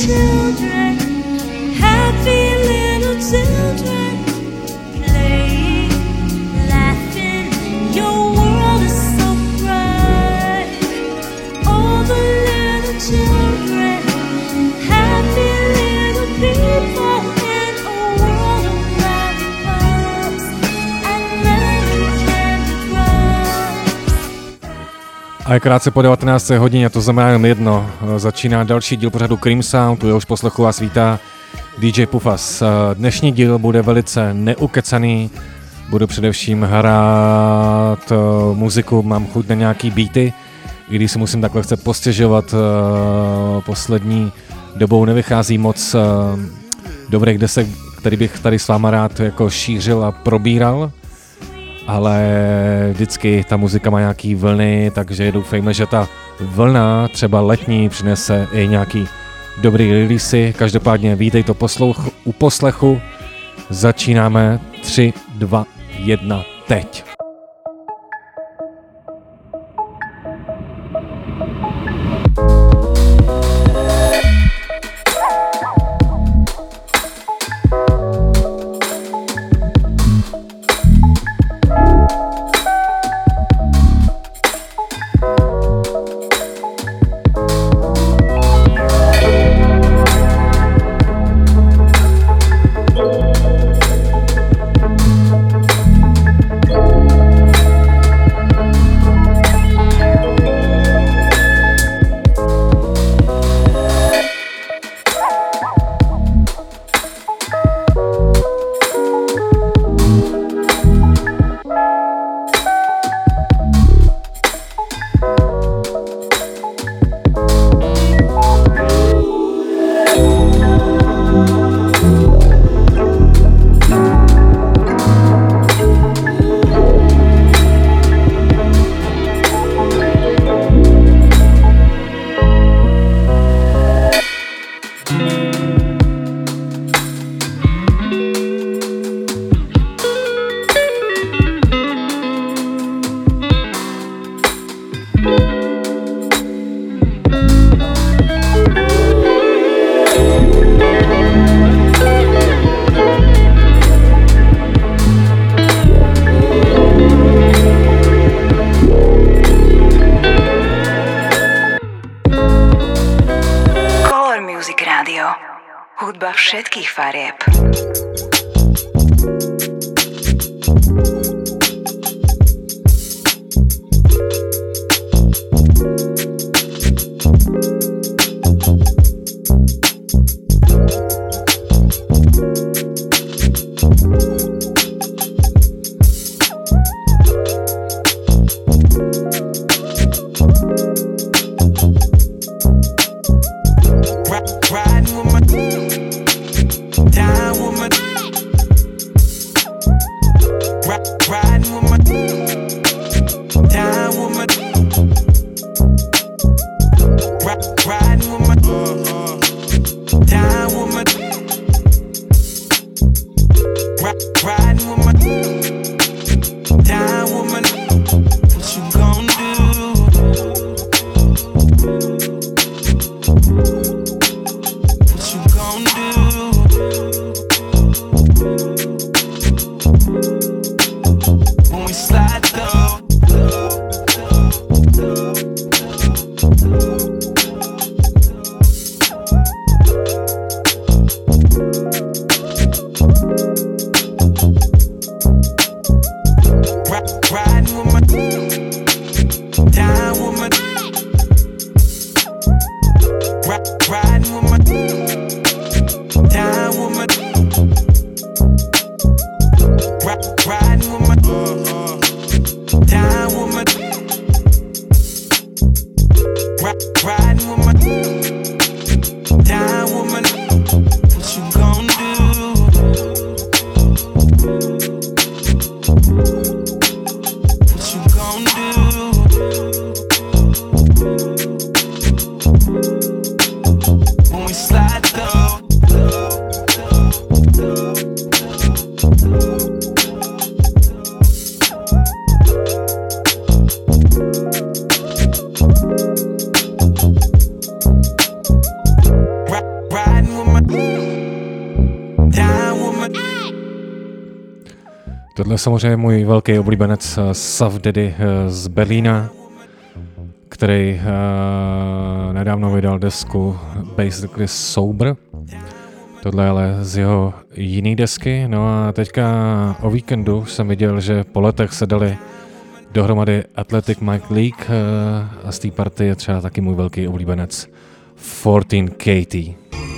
children, happy little children, playing, laughing, your world is so bright. All the little children, happy little people in a world of lollipops and lemon candy drops. A je krátce po 19. hodině, to znamená jen jedno. Začíná další díl pořadu Cream Sound, tu jehož poslechu vás vítá DJ Pufas. Dnešní díl bude velice neukecaný, budu především hrát muziku, mám chuť na nějaký beaty, i když si musím takhle chce postěžovat, poslední dobou nevychází moc dobrých desek, který bych tady s váma rád jako šířil a probíral, ale vždycky ta muzika má nějaký vlny, takže doufejme, že ta vlna třeba letní přinese i nějaký dobrý releasy. Každopádně vítejte u poslechu. Začínáme 3, 2, 1, teď. Všetkých farieb. Tohle je samozřejmě můj velký oblíbenec Saf Daddy z Berlína, který nedávno vydal desku Basically Sober. Tohle je ale z jeho jiný desky. No a teďka o víkendu jsem viděl, že po letech se dali dohromady Athletic Mike League a z té party je třeba taky můj velký oblíbenec 14 Katie.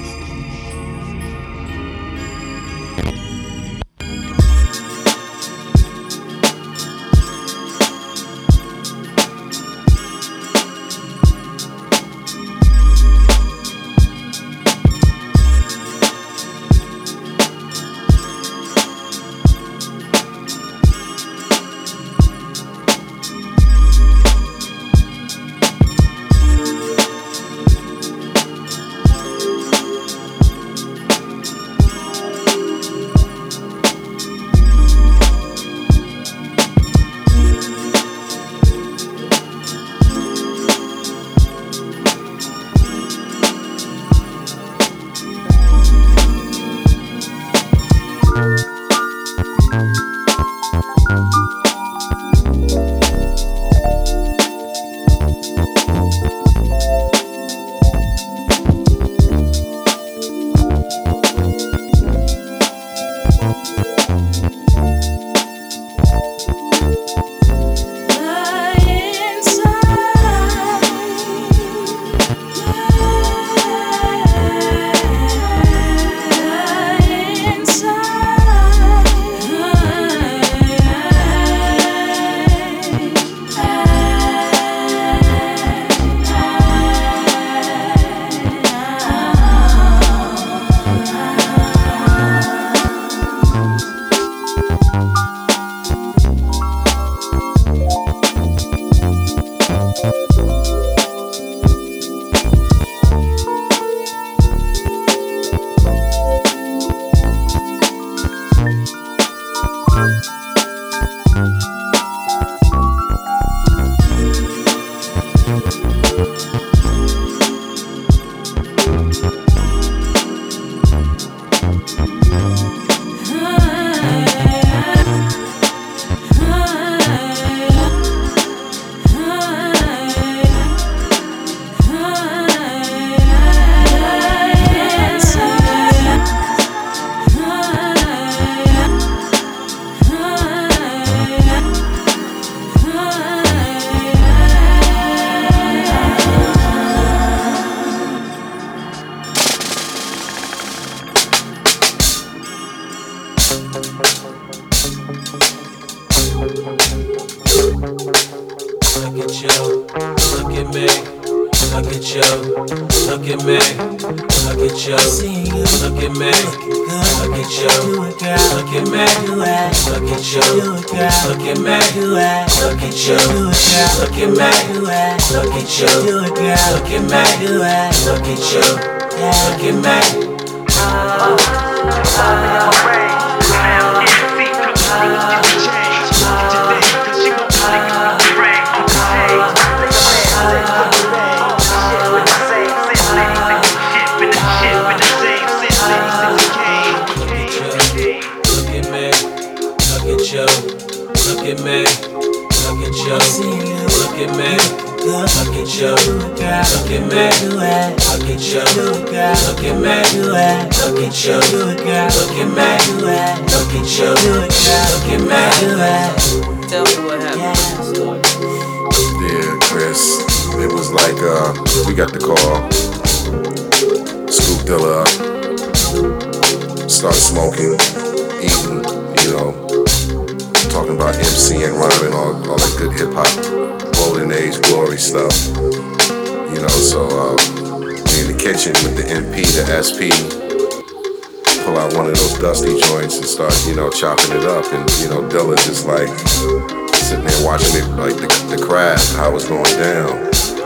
Chopping it up, and Dilla just like sitting there watching it, like the craft, how it's going down,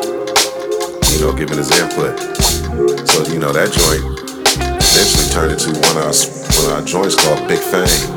giving his input. So that joint eventually turned into one of our joints called Big Fang.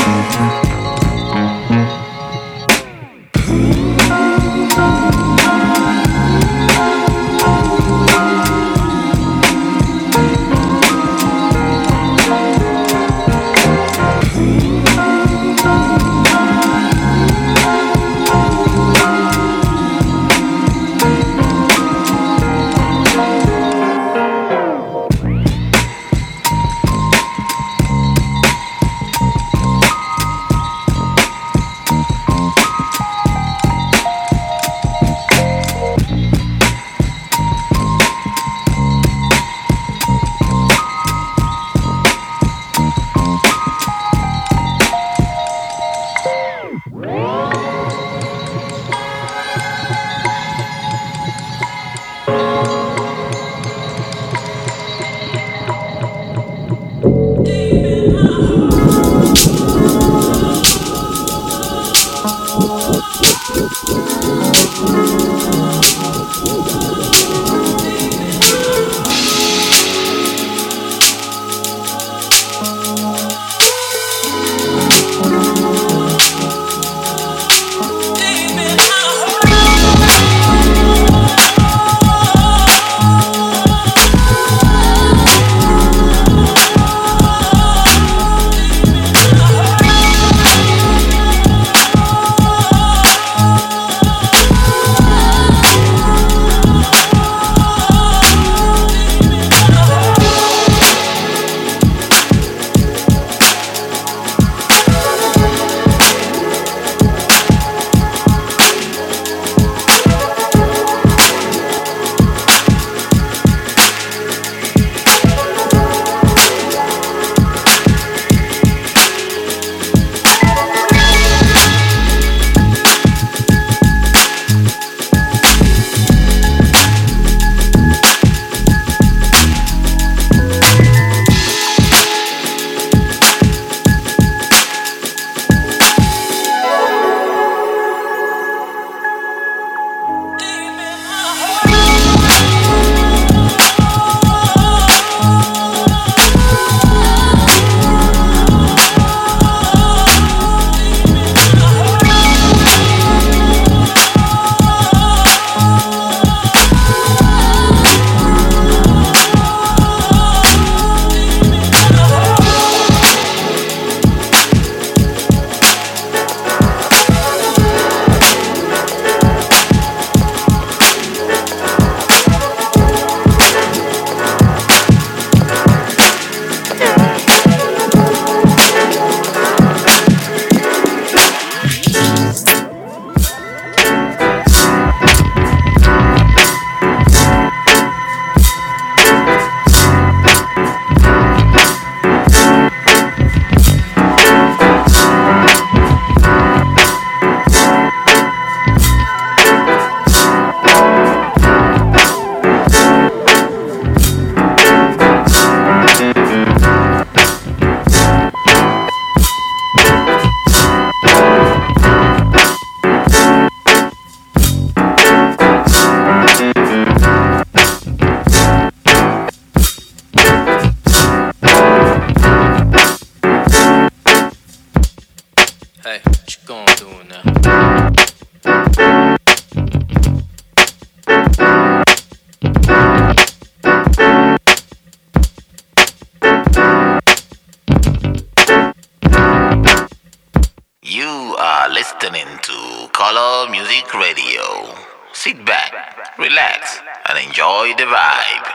Color Music Radio. Sit back, relax, and enjoy the vibe.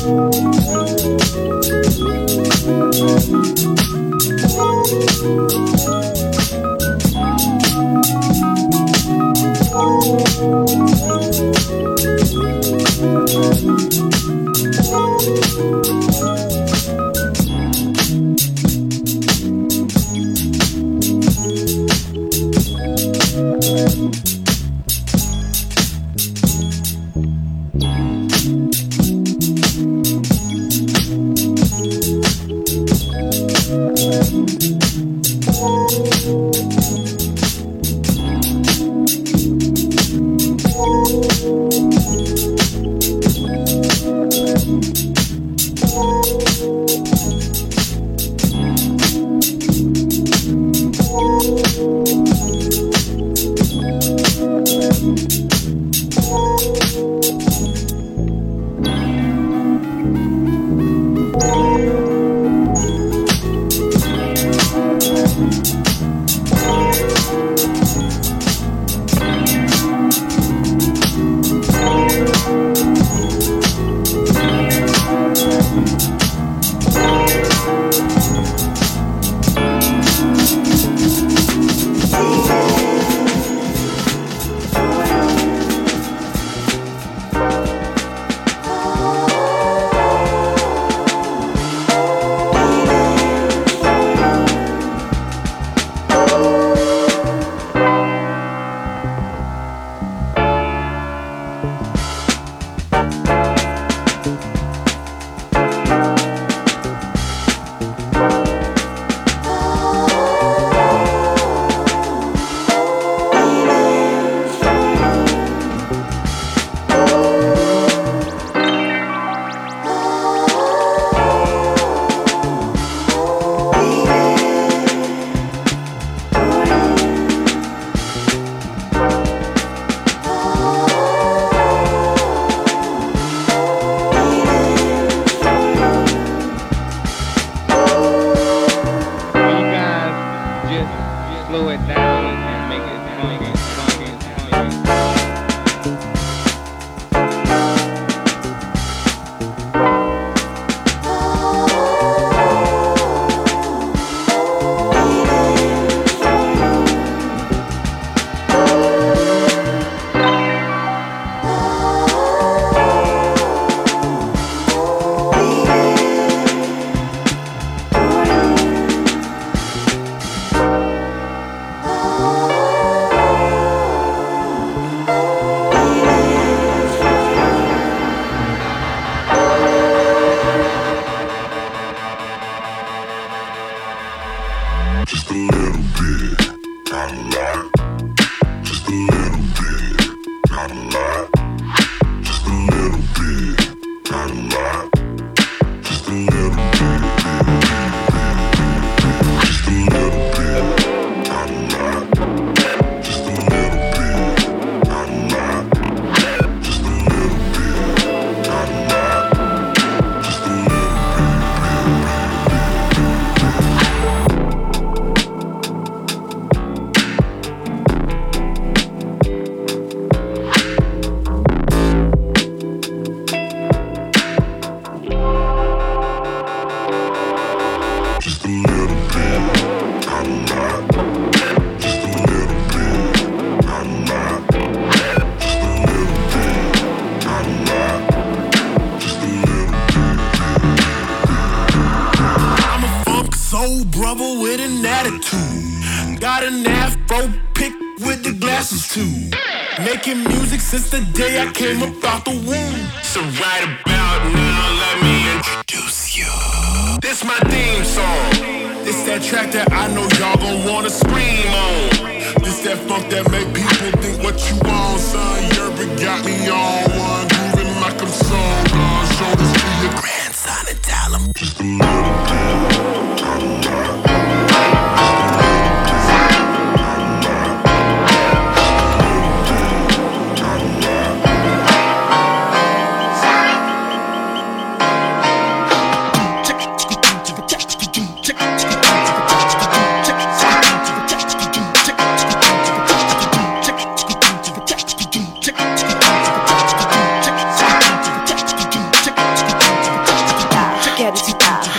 Making music since the day I came up out the womb. So right about now, let me introduce you. This my theme song. This that track that I know y'all gon' wanna scream on. This that funk that make people think what you want, son. Yerba got me on one, grooving like I'm so gone. Show this to your grandson and tell him just a little bit.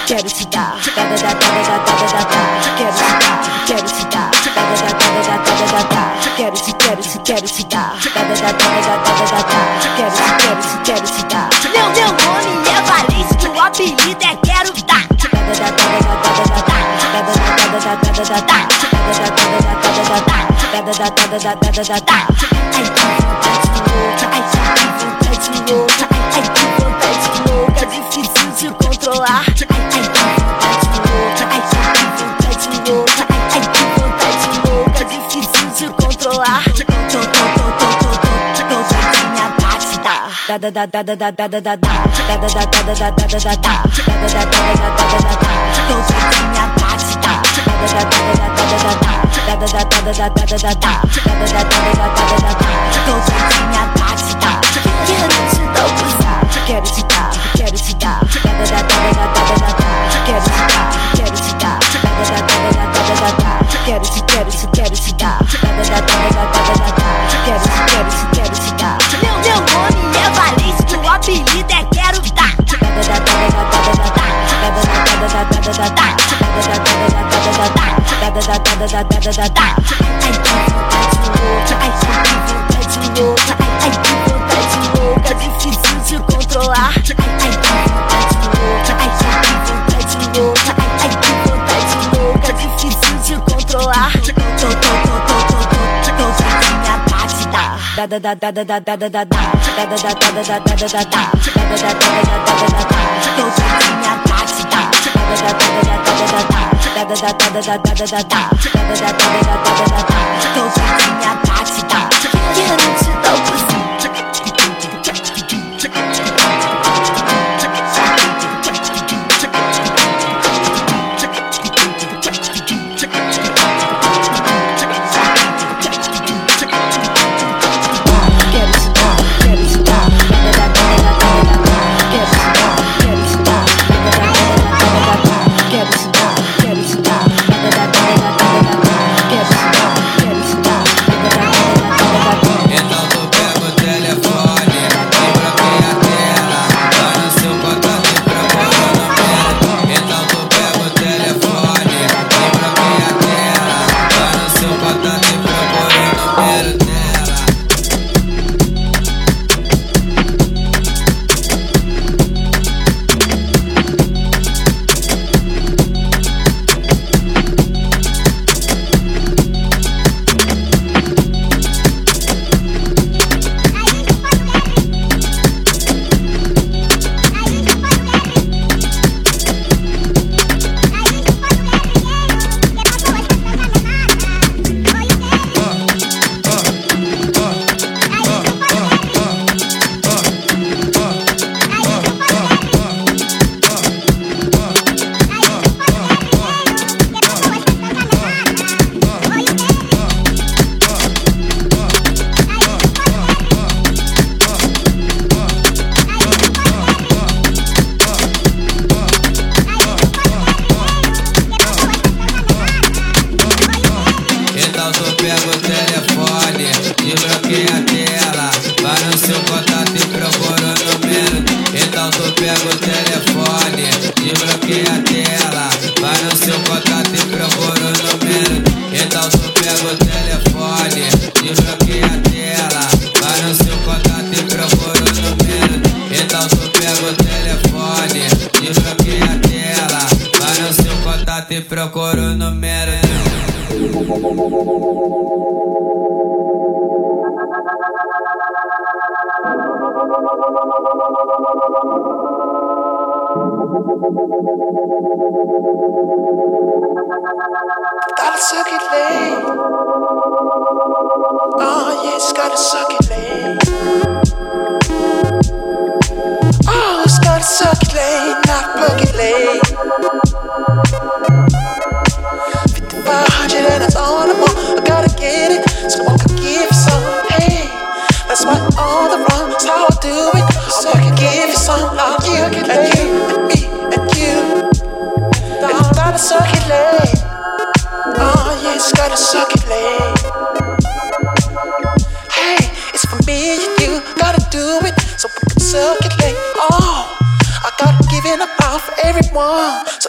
quero te dar, quero te dar, quero te dar, quero te dar, quero te dar, quero te dar. Meu nome é Valência, o apelido é Quero Dar. Ai, que vontade louca, ai, que vontade louca, difícil de controlar. Ai, que vontade louca, ai, que vontade louca, difícil de controlar. Tô doidinha pra te dar. Tô doidinha pra te dar. Tô doidinha pra te dar. Quero te dar o cruzar, quero te dar, quero te dar. Quero te dar, quero te dar. Quero te dar. Quero te dar. Meu nome é Valência, o apelido é Quero Dar. Ai, que vontade louca, difícil de controlar. Ai, que vontade louca, difícil de controlar. Tô doidinha pra te dar. Tô doidinha pra te dar. Tô doidinha pra te dar. Quero te dar o cozinho. Gotta suck it, late. Oh, yes, gotta suck it, late. Oh, it's gotta suck it, late, not plug it, late. 5,500 and that's all I want. I gotta get it, so I can give you some. Hey, that's why all the wrong, that's how I do it. So I can give you some, like you and me and you. I gotta suck it, late. Oh, yes, gotta suck it, late. Hey, it's for me and you, gotta do it, so we can suck it, late. Oh, I gotta give it up for everyone,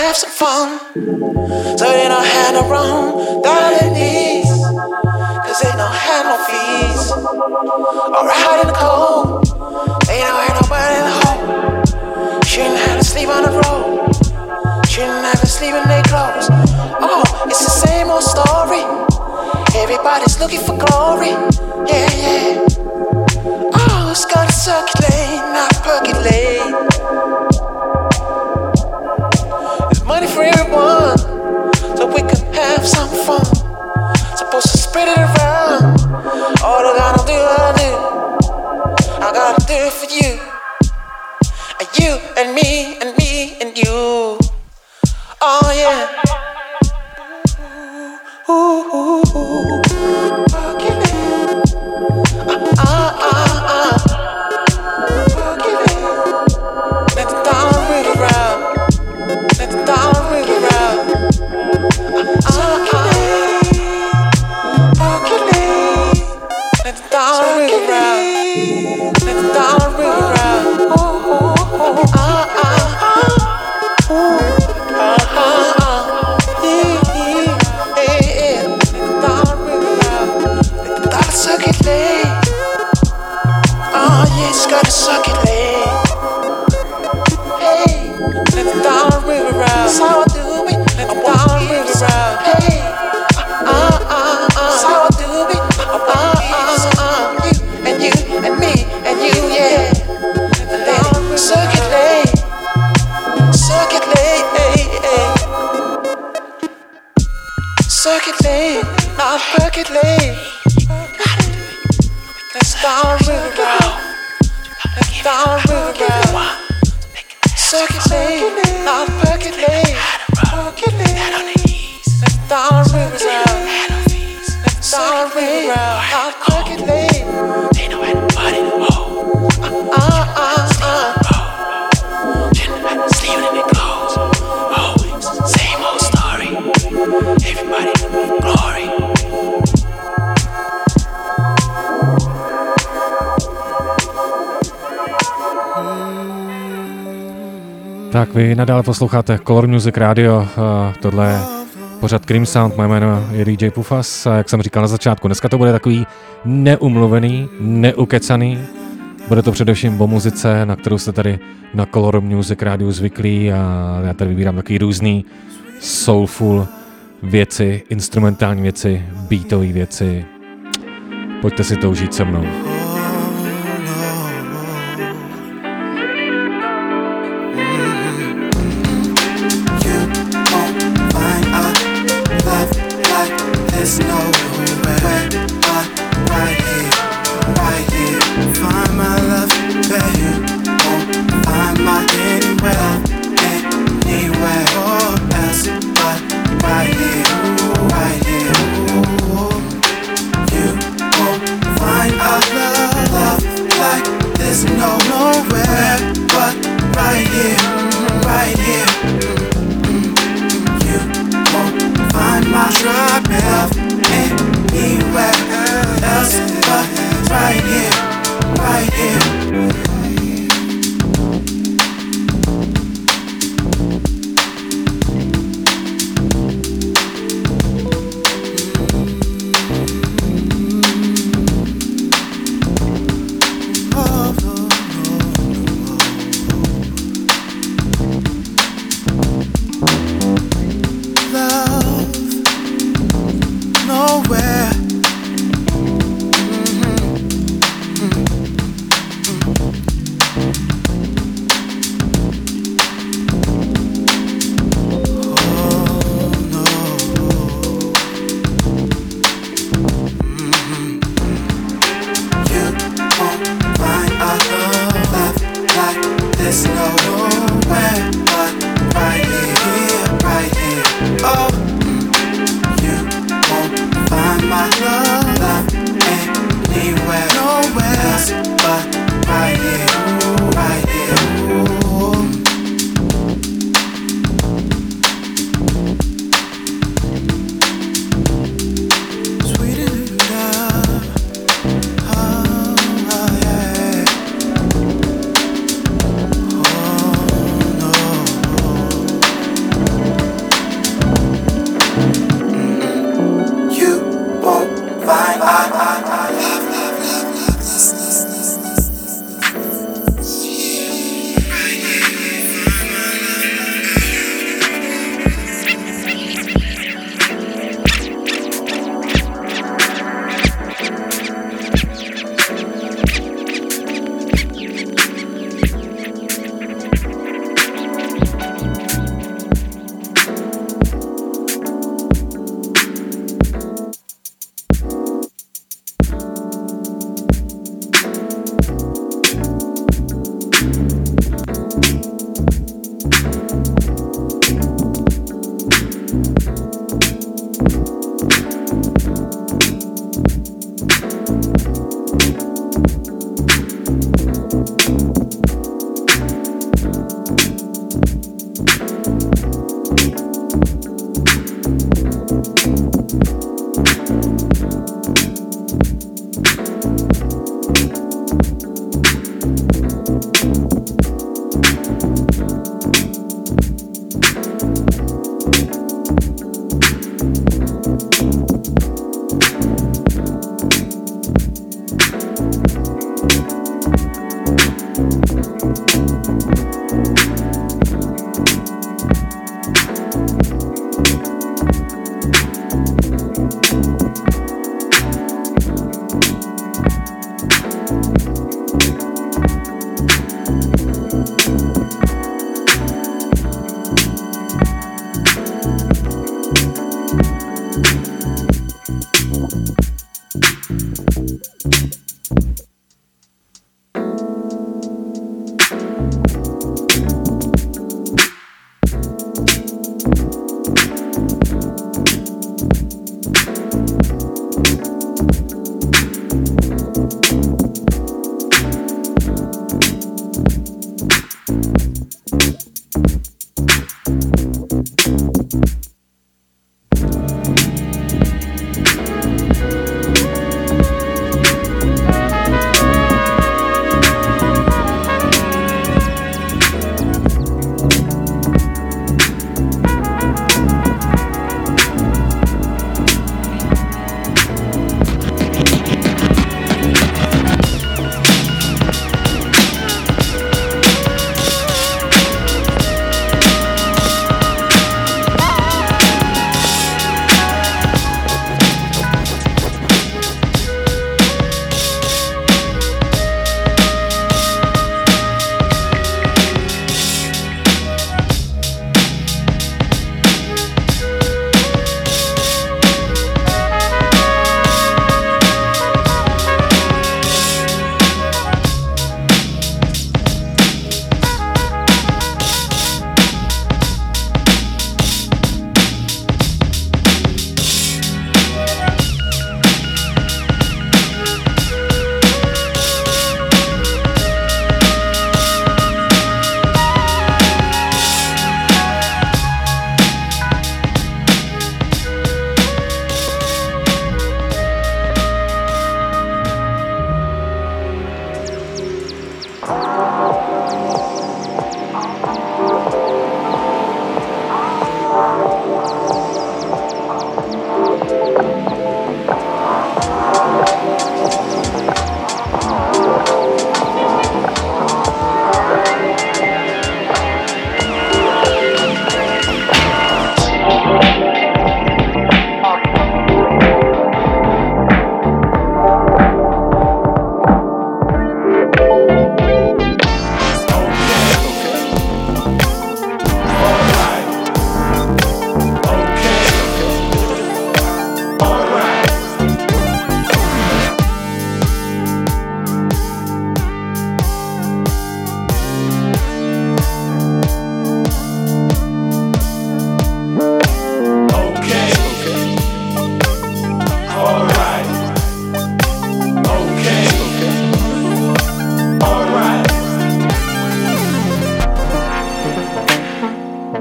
have some fun. So they don't have no wrong dollar needs, cause they don't have no fees. Alright out in the cold, they don't have nobody in the home. Shouldn't have to sleep on the road, shouldn't have to sleep in their clothes. Oh, it's the same old story. Everybody's looking for glory. Yeah, yeah. Oh, it's gotta circulate, not percolate. There's money for everyone, so we can have some fun. Supposed to spread it around. All I gotta do, I gotta do it for you. And you and me and me and you. Oh yeah. Ooh, ooh, ooh. Let the dollar ring around. Let the dollar ring around. Let the dollar ring around. Let the dollar ring around. Circulate. Oh yeah, it's gotta circulate. Hey, let the dollar ring around. That's how I do it. Let the dollar ring around. Hey, that's how I do it. You and you and me and you, yeah. Let it circulate, circulate, circulate, not percolate. Let's dollar ring around. Let's dollar ring around. Circulate, not percolate. Let's dollar ring around. Let's dollar ring around, not percolate. They know how to party the whole. Sleeping in their clothes. Oh, same old story. Everybody glory. Tak vy nadále posloucháte Color Music Radio, tohle je pořad Cream Sound, moje jméno je DJ Pufas a jak jsem říkal na začátku, dneska to bude takový neumluvený, neukecaný, bude to především o muzice, na kterou jste tady na Color Music Radio zvyklí a já tady vybírám takový různý soulful věci, instrumentální věci, beatové věci, pojďte si to užít se mnou. There's nowhere right here. Find my love, babe. You won't find my anywhere else but right here. You won't find our love.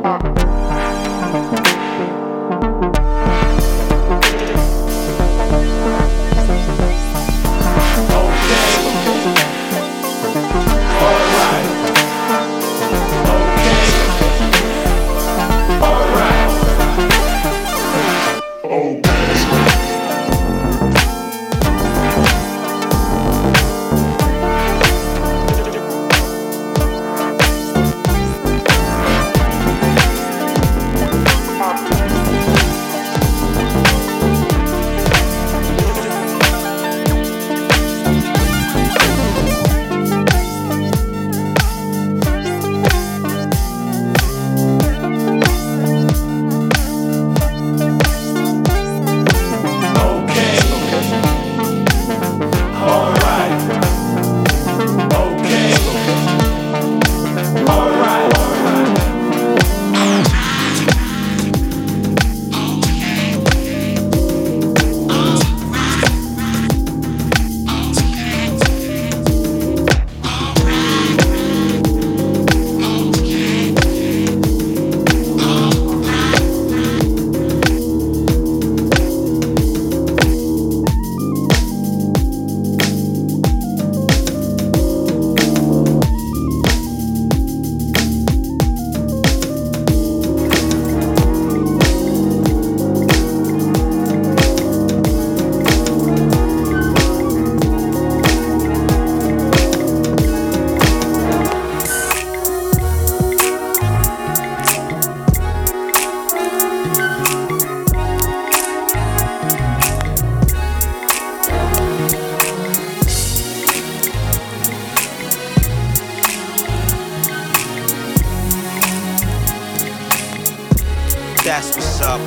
That's what's up.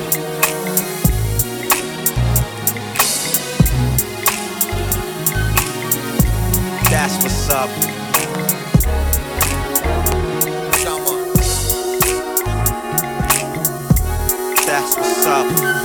That's what's up. That's what's up.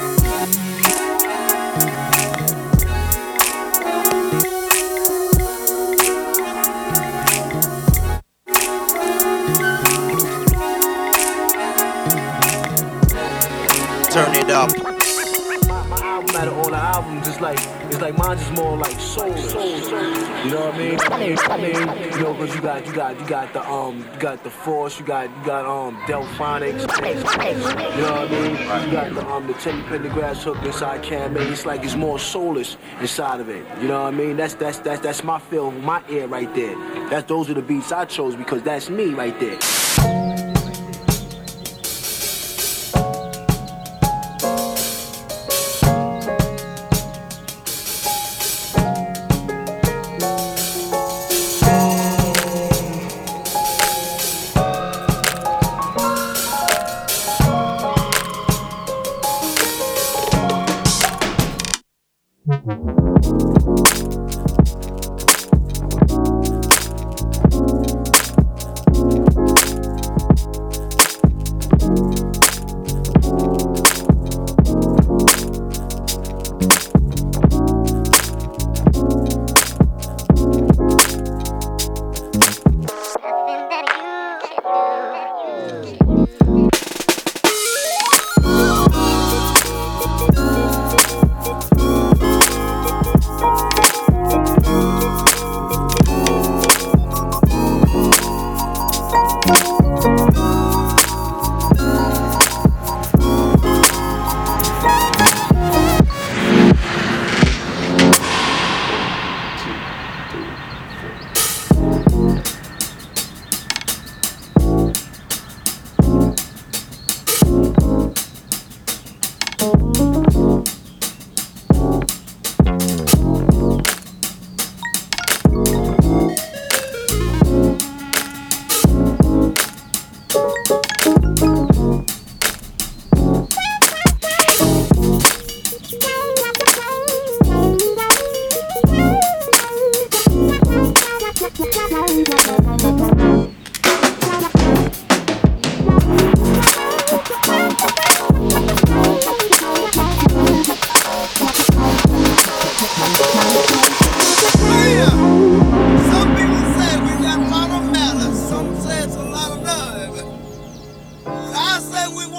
Turn it up. My album out of all the albums, it's like mine's just more like soul. You know what I mean? You know, cause you got the Force, you got Delphonics. You know what I mean? You got the Teddy Pendergrass hook inside Cam. It's like it's more soulless inside of it. You know what I mean? That's my feel, my ear right there. Those are the beats I chose because that's me right there.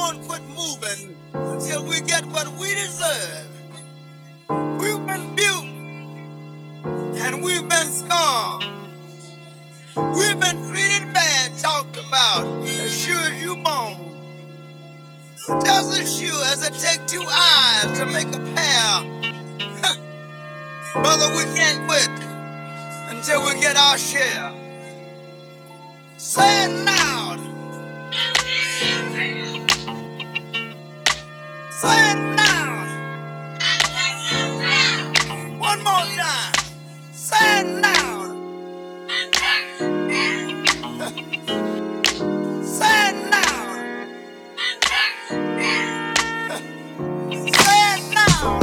won't quit moving until we get what we deserve. We've been built and we've been scorned. We've been treated bad, talked about, as sure as you born. Just as sure as it takes two eyes to make a pair. Brother, we can't quit until we get our share. Say it loud. Say it loud. One more time. Say it loud. Say it loud. Say it loud.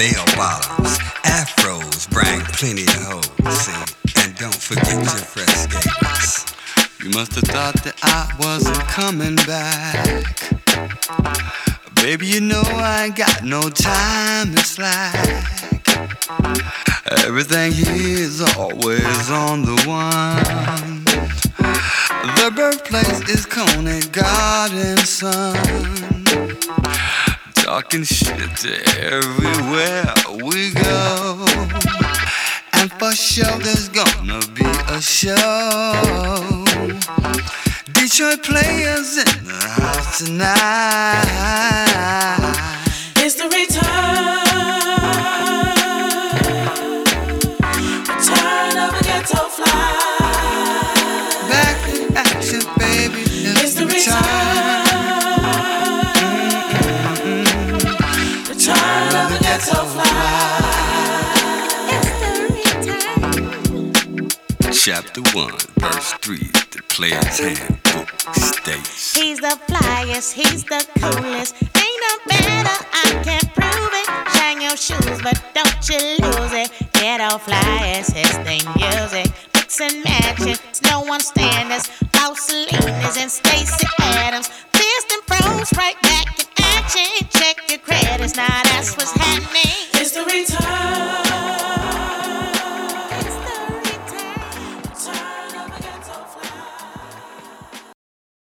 bell bottoms, afros bring plenty of hoes, see, and don't forget your fresh skaters. You must have thought that I wasn't coming back. Baby, you know I ain't got no time to slack. Everything here is always on the one. The birthplace is Coney Garden, son. Talking shit to everywhere we go. And for sure there's gonna be a show. Detroit players in the house tonight. It's the return of a ghetto fly. Back in action, baby. It's the return of a ghetto fly. Chapter 1, verse 3, the player's handbook states. He's the flyest, he's the coolest. Ain't no better, I can prove it. Shine your shoes, but don't you lose it. Ghetto flyest, his thing music. Mix and match it, no one standards. Paul Salinas and Stacey Adams. Fist and pros right back in action. Check your credits, now that's what's happening.